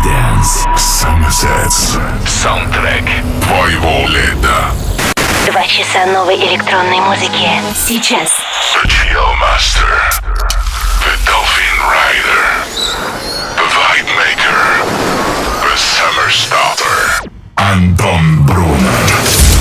Residence Sunsets. Саундтрек твоего лета. 2 часа новой электронной музыки. Сейчас. The Chill Master, The Dolphin Rider, The Vibe Maker, The Summer Starter. Антон Брунер.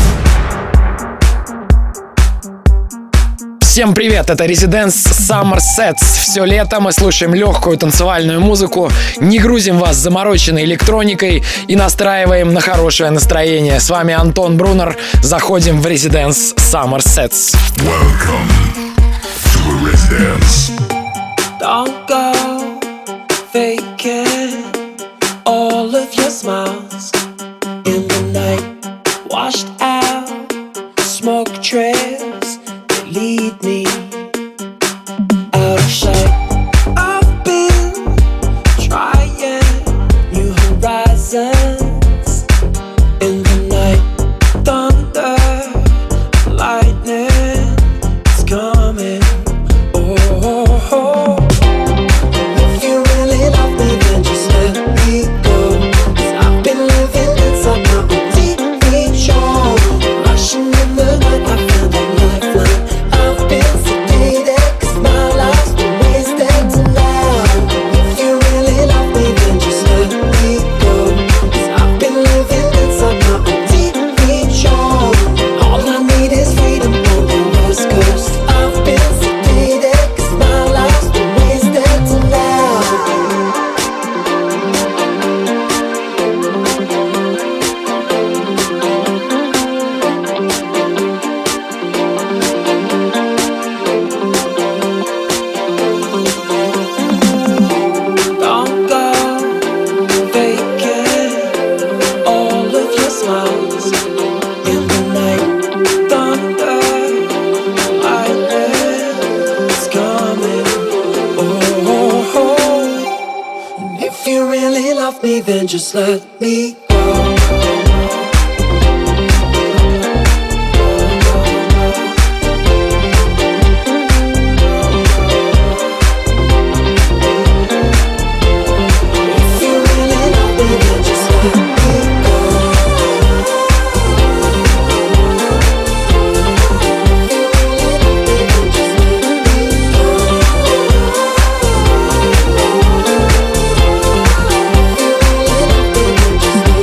Всем привет, это Residence Summer Sets. Все лето мы слушаем легкую танцевальную музыку, не грузим вас замороченной электроникой и настраиваем на хорошее настроение. С вами Антон Брунер, заходим в Residence Summer Sets. Welcome to Residence. Don't go faking all of your smiles in the night. Washed out smoke trails that lead me out of sight. I've been trying new horizons in the night. Thunder, lightning is coming. Oh, if you really love me, then just let me go. 'Cause I've been living inside my own TV show. Rushing in the night, I found a lifeline. I've been sedated 'cause my life's been wasted tonight. If you really love me, then just let me go. 'Cause I've been living inside my own TV show. All I need is freedom on the West Coast. I've been sedated 'cause my life's been wasted tonight. Don't go faking all of your smiles in the night. Thunder, lightning is coming. Oh, and if you really love me, then just let me go. If you really love me, then just let me go. If you really love me, then just let me go.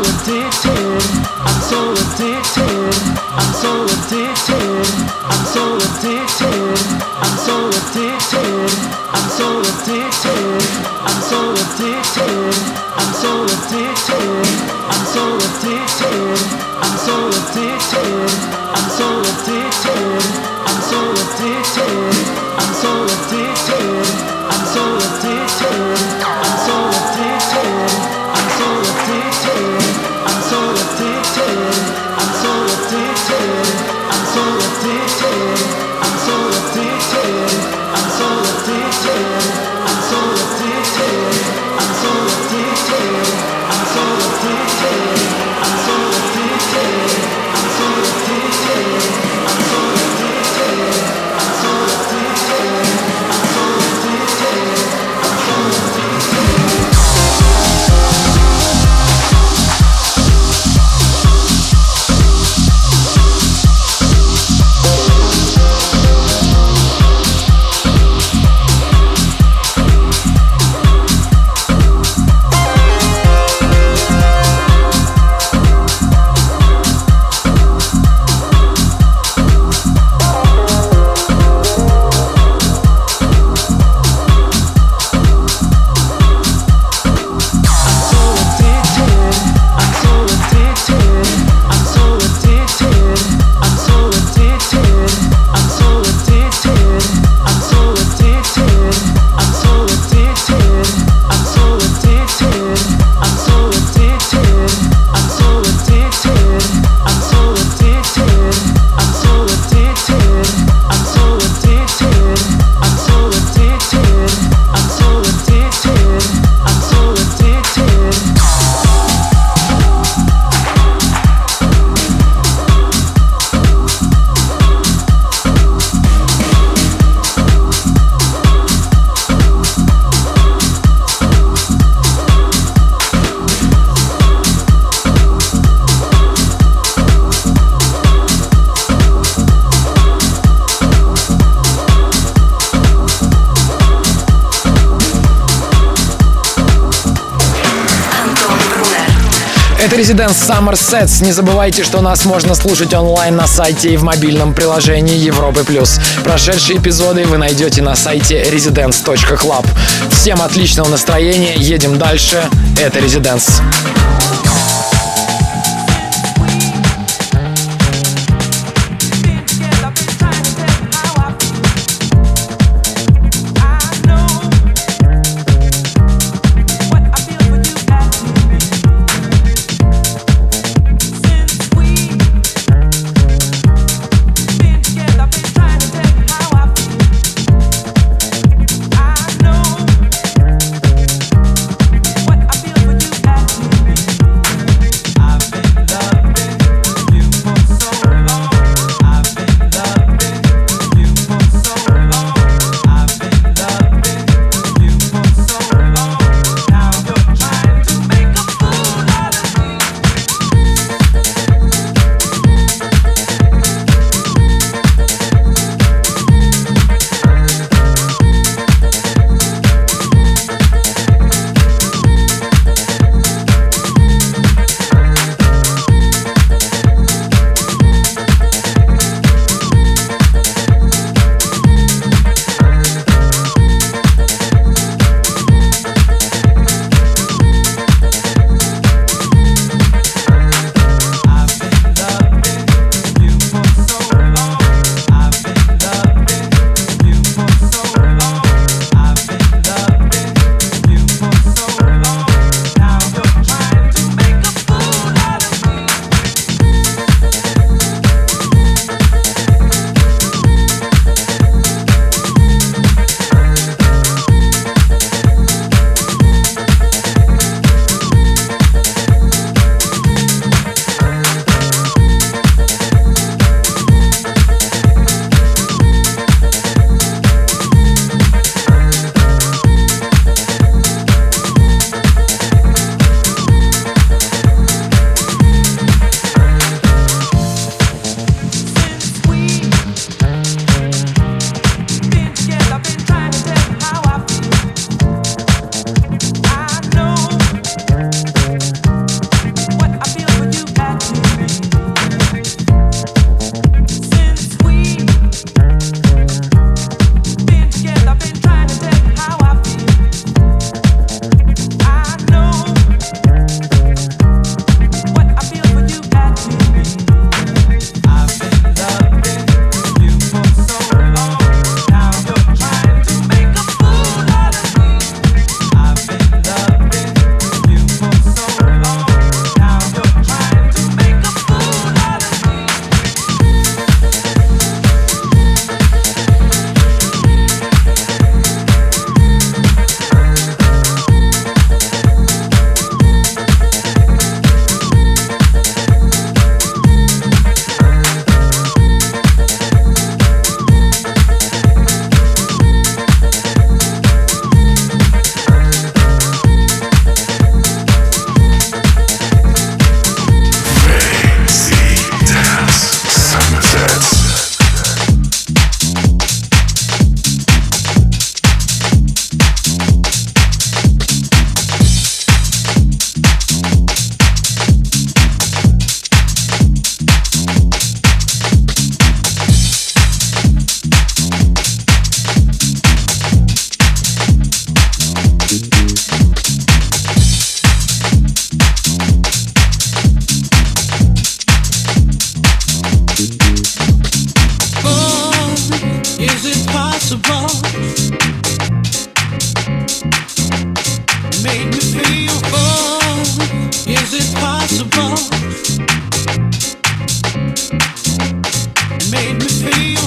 Это Residence Summer Sets. Не забывайте, что нас можно слушать онлайн на сайте и в мобильном приложении Европы+. Прошедшие эпизоды вы найдете на сайте residence.club. Всем отличного настроения, едем дальше. Это Residence. What I feel for you, that possible? Made me feel, oh, is it possible? Made me feel.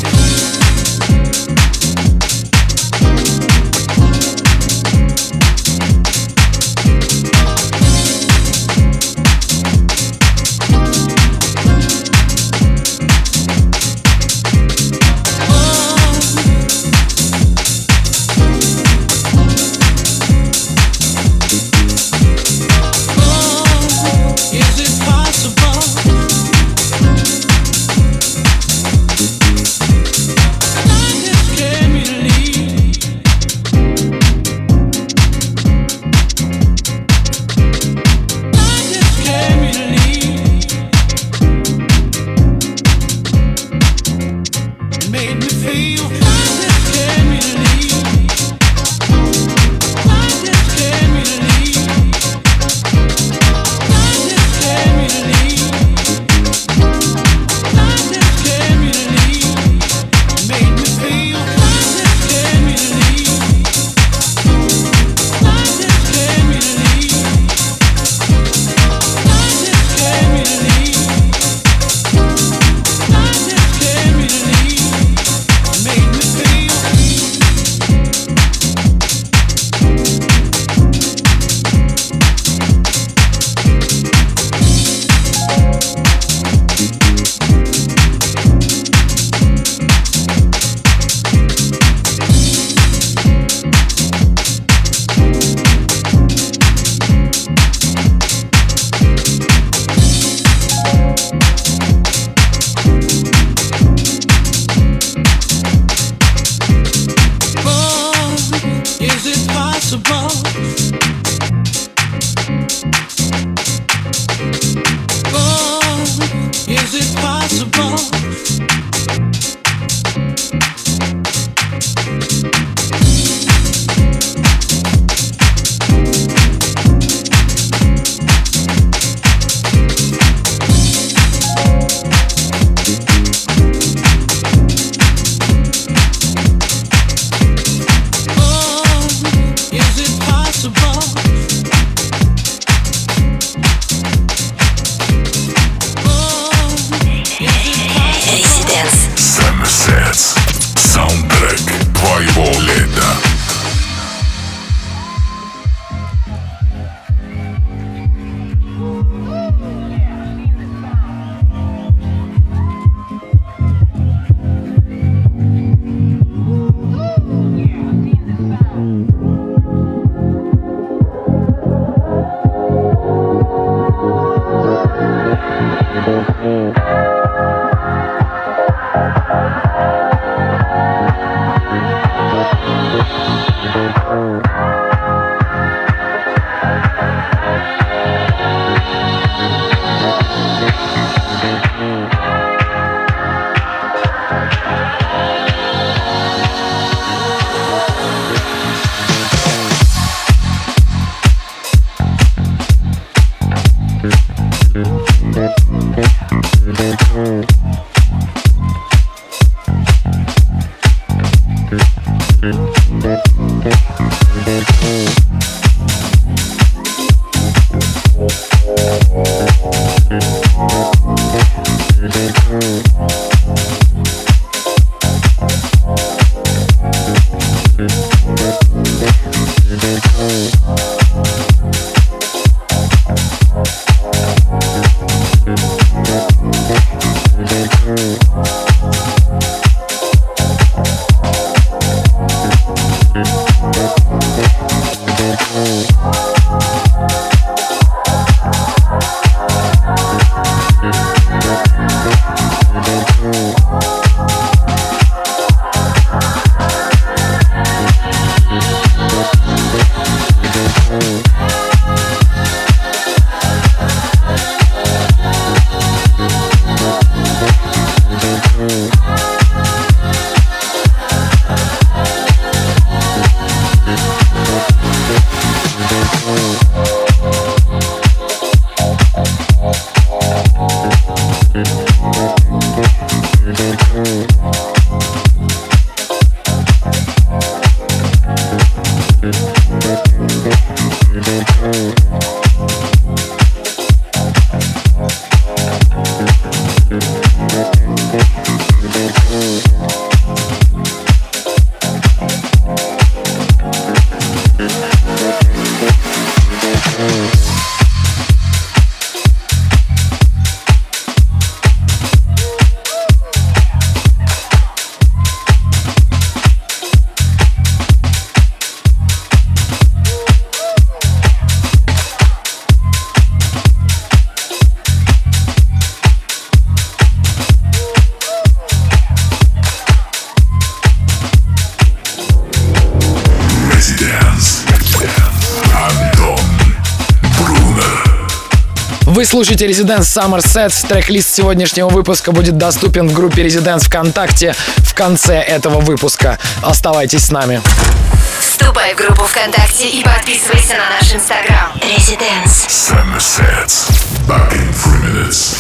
Вы слушаете Residence Summer Sets. Трек-лист сегодняшнего выпуска будет доступен в группе Residence ВКонтакте в конце этого выпуска. Оставайтесь с нами. Вступай в группу ВКонтакте и подписывайся на наш Инстаграм. Residence Summer Sets. Back in 3 minutes.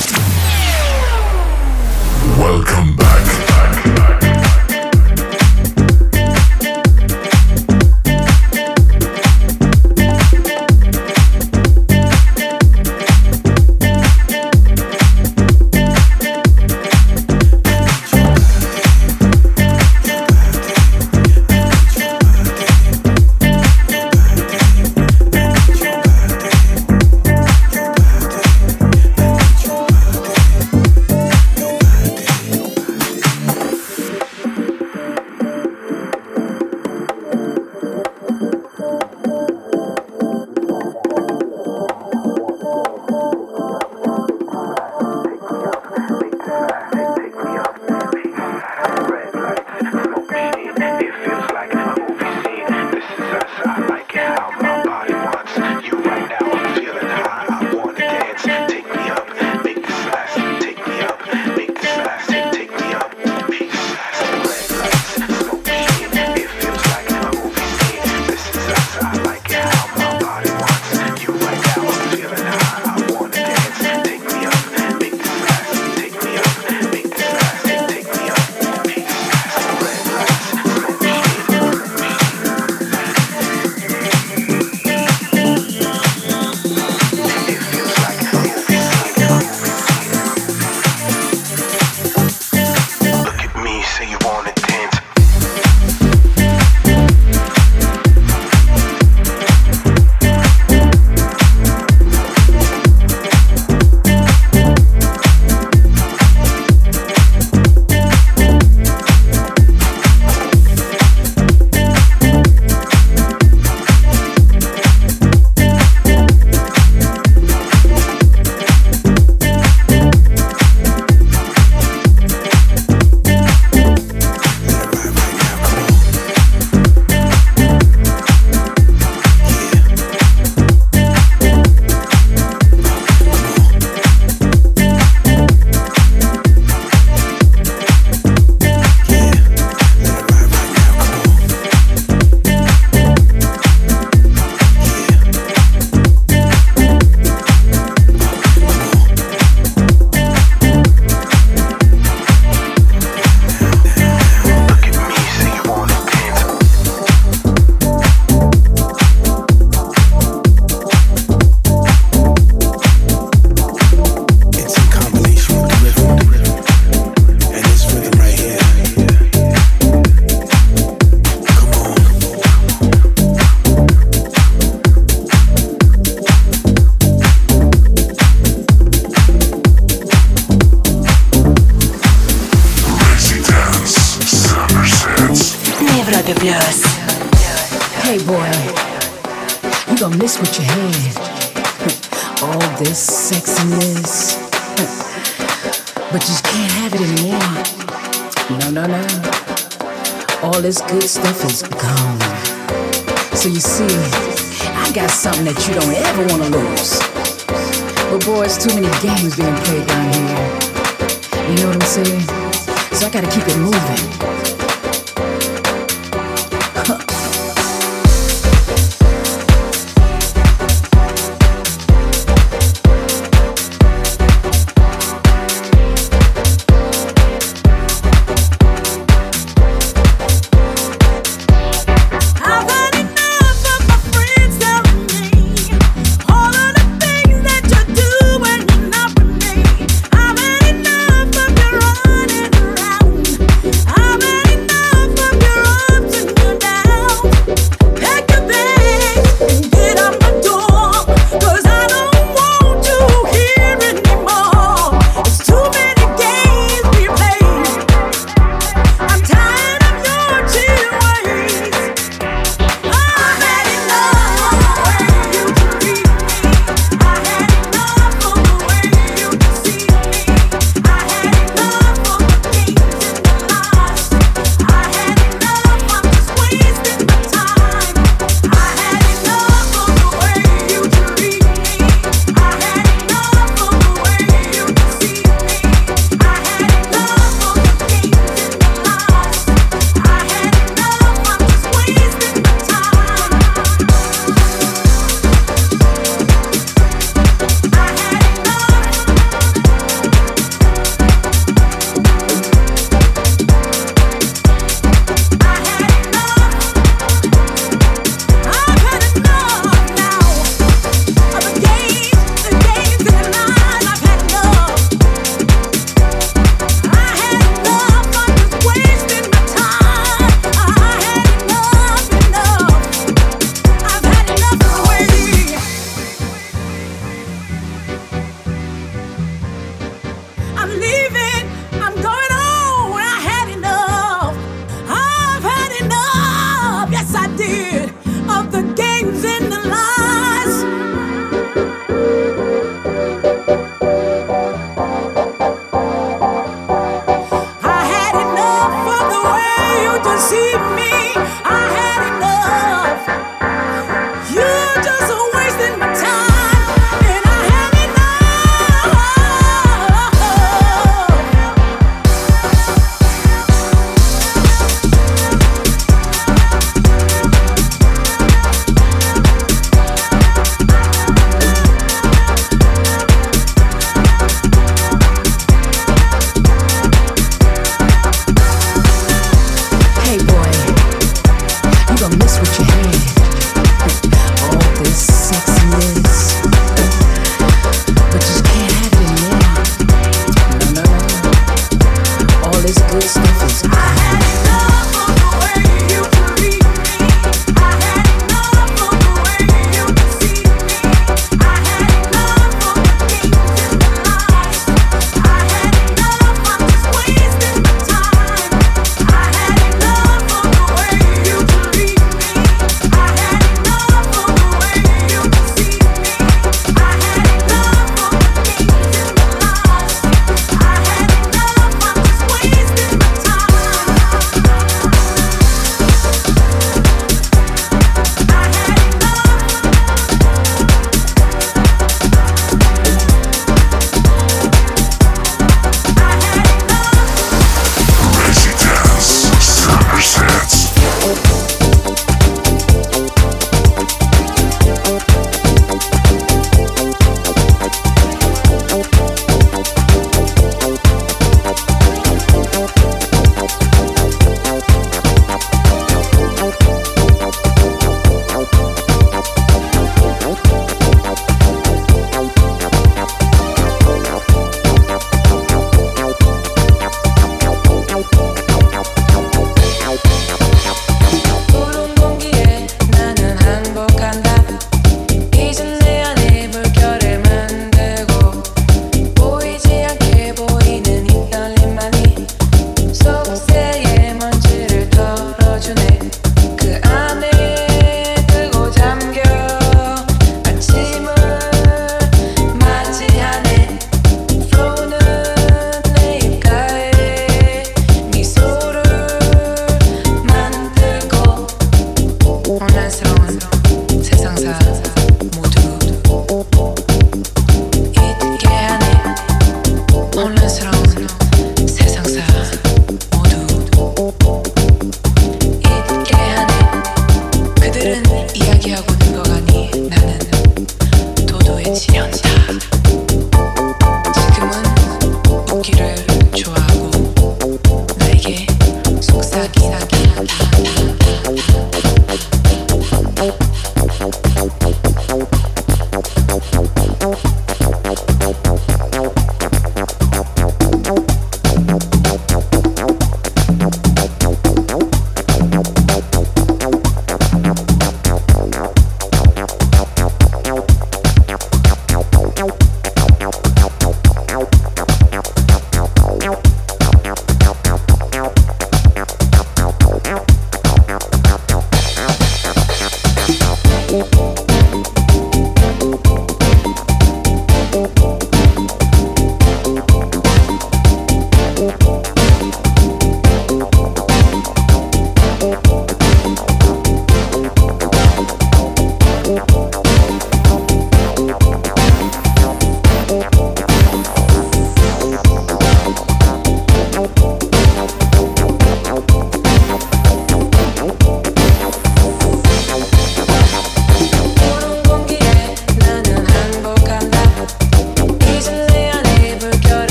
Welcome back. Hey boy, you gonna miss what you had. All this sexiness, but you just can't have it anymore. No. All this good stuff is gone. So you see, I got something that you don't ever wanna lose. But boy, it's too many games being played down here. You know what I'm saying? So I gotta keep it moving. I've had enough of your running around. I've had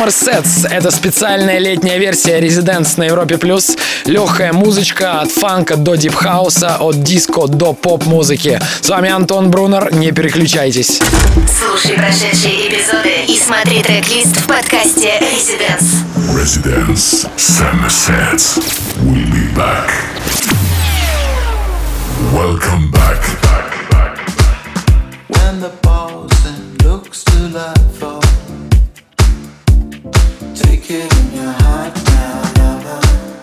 Summer Sets — это специальная летняя версия Residence на Европе+. Легкая музычка от фанка до дипхауса, от диско до поп-музыки. С вами Антон Брунер, не переключайтесь. Слушай прошедшие эпизоды и смотри трек-лист в подкасте Residence. Residence Summer Sets. We'll be back. Welcome back. When the pausing looks to let fall, take it in your heart now.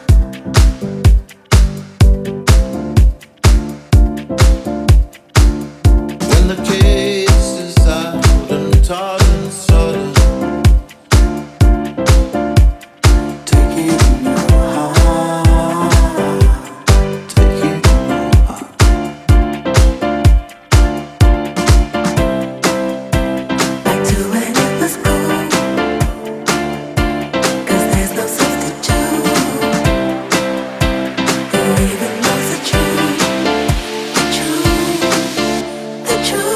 When the case is out and taut and sudden, take it in your heart, take it in your heart. Back to when it was cool, 'cause there's no substitute. Who even knows the truth, the truth, the truth?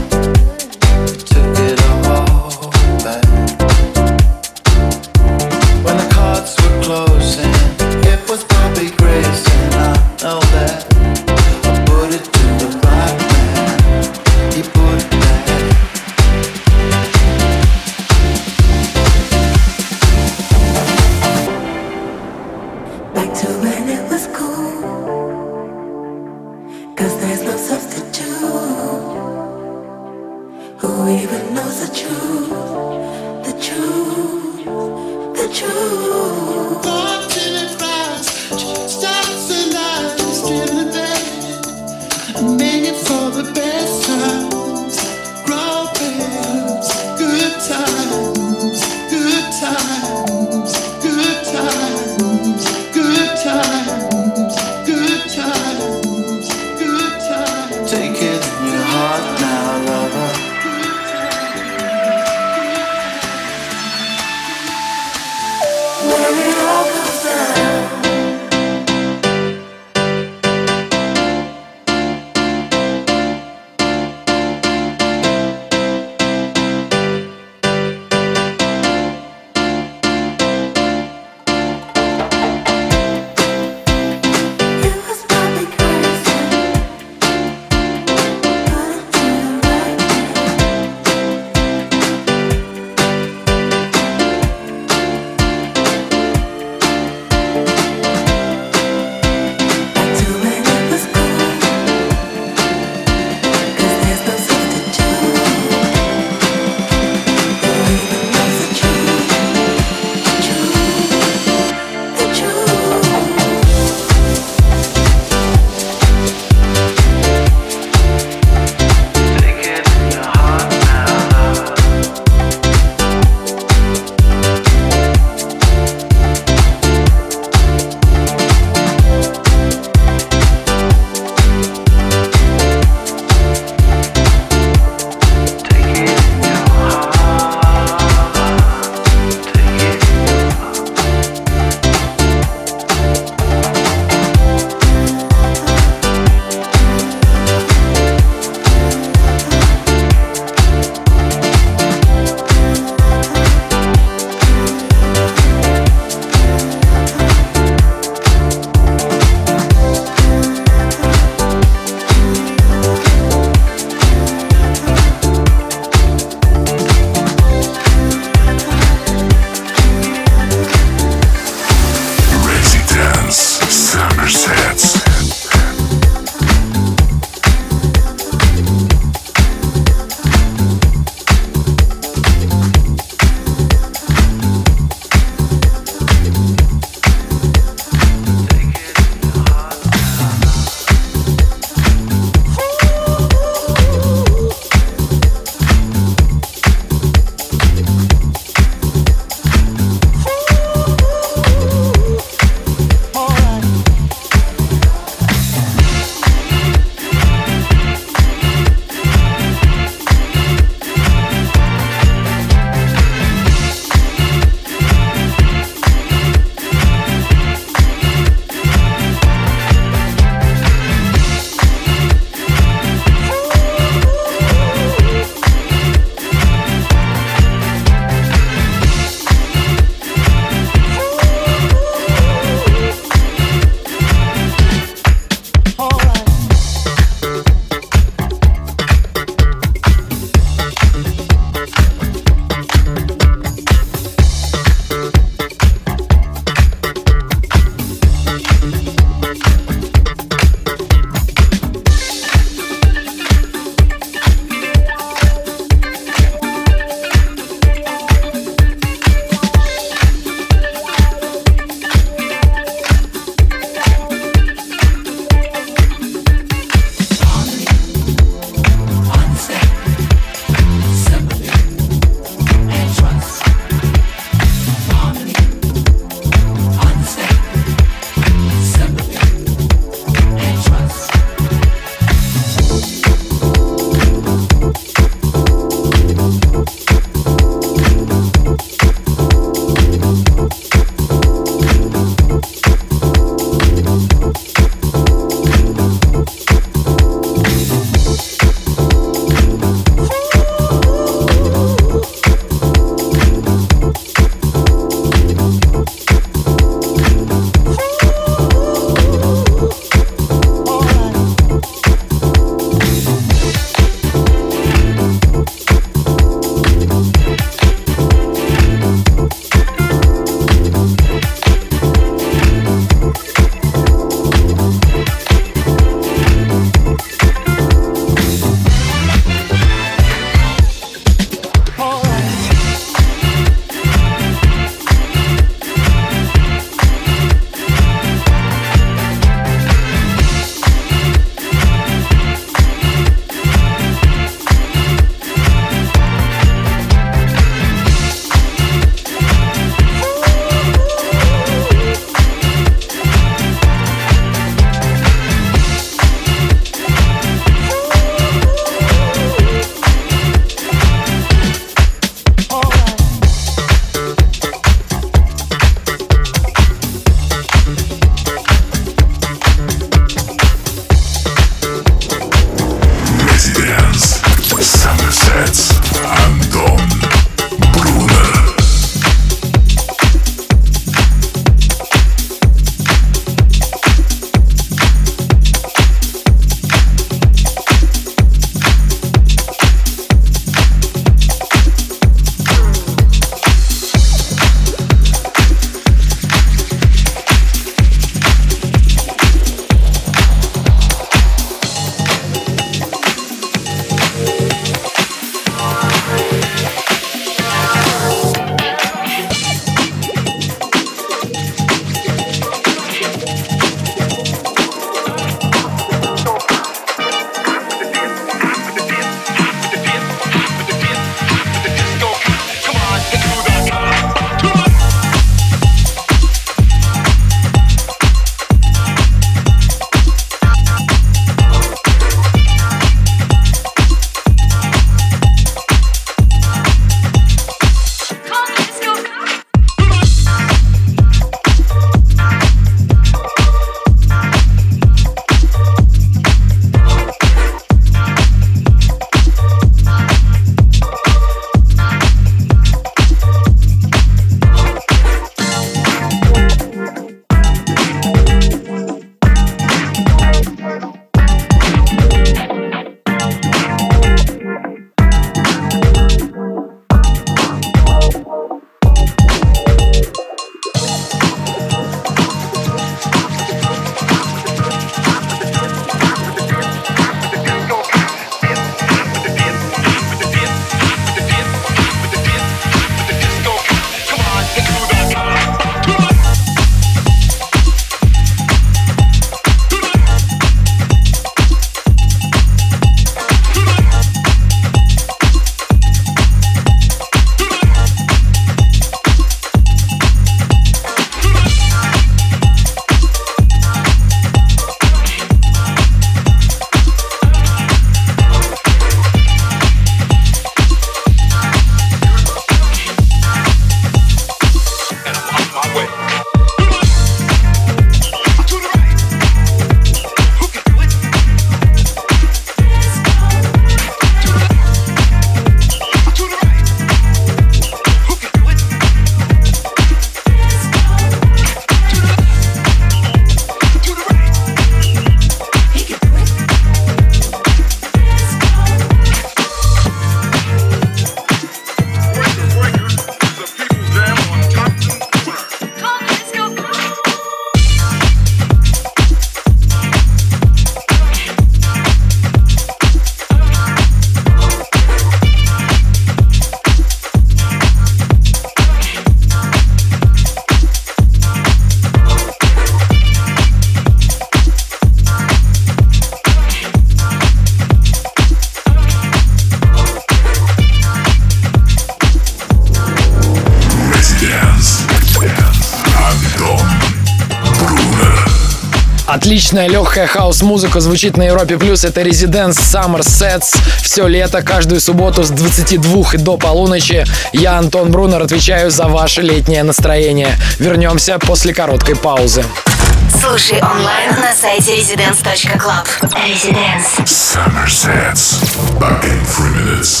Отличная легкая хаус-музыка звучит на Европе+. Это Residence Summer Sets. Все лето, каждую субботу с 22 и до полуночи. Я, Антон Брунер, отвечаю за ваше летнее настроение. Вернемся после короткой паузы. Слушай онлайн на сайте residence.club. Residence. Summer Sets. Back in 3 minutes.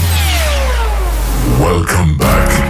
Welcome back.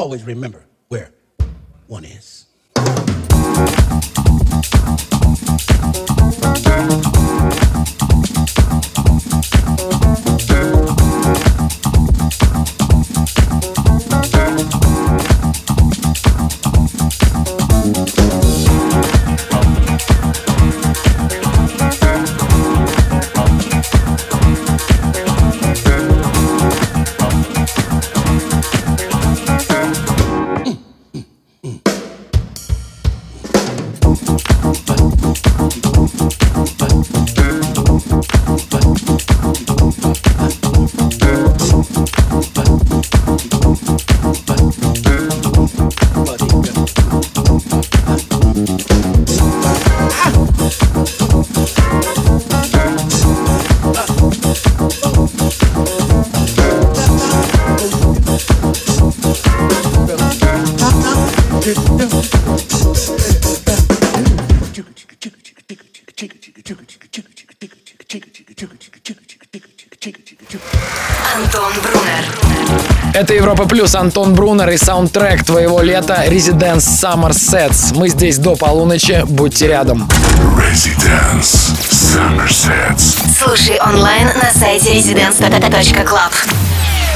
always remember where one is. Антон Брунер. Это Европа Плюс, Антон Брунер и саундтрек твоего лета Residence Summer Sets. Мы здесь до полуночи, будьте рядом. Residence Summer Sets. Слушай онлайн на сайте residence.club.